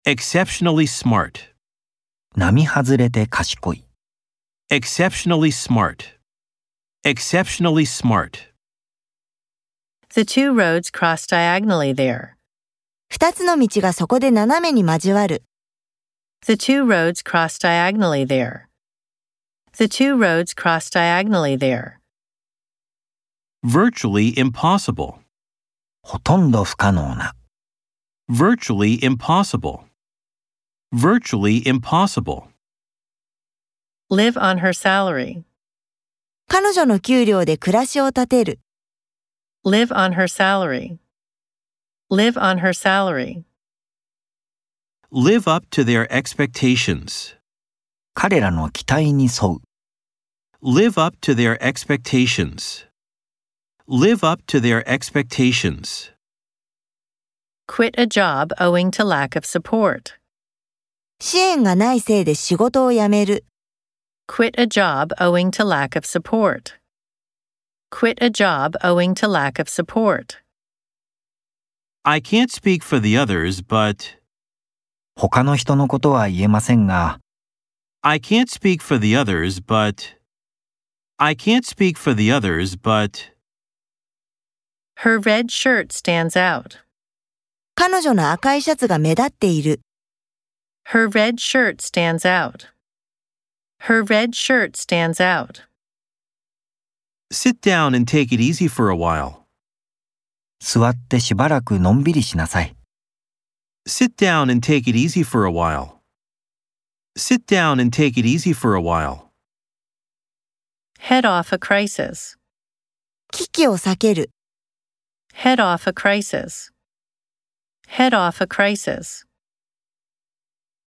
exceptionally smart, 並外れて賢い。 exceptionally smart, exceptionally smart. The two roads cross diagonally there. 二つの道がそこで斜めに交わる。 The two roads cross diagonally there. The two roads cross diagonally there. Virtually impossible, ほとんど不可能な。 virtually impossible, virtually impossible. Live on her salary. 彼女の給料で暮らしを立てる。 Live on her salary. Live on her salary. Live up to their expectations, 彼らの期待に沿う。 live up to their expectations, live up to their expectations. Quit a job owing to lack of support. 支援がないせいで仕事を辞める。 Quit a job owing to lack of support. Quit a job owing to lack of support. I can't speak for the others, but... 他の人のことは言えませんが、 I can't speak for the others, but... I can't speak for the others, but... Her red shirt stands out. 彼女の赤いシャツが目立っている。 Her red shirt stands out. Her red shirt stands out. Sit down and take it easy for a while. 座ってしばらくのんびりしなさい。 Sit down and take it easy for a while. Sit down and take it easy for a while. Head off a crisis. 危機を避ける。 Head off a crisis. Head off a crisis.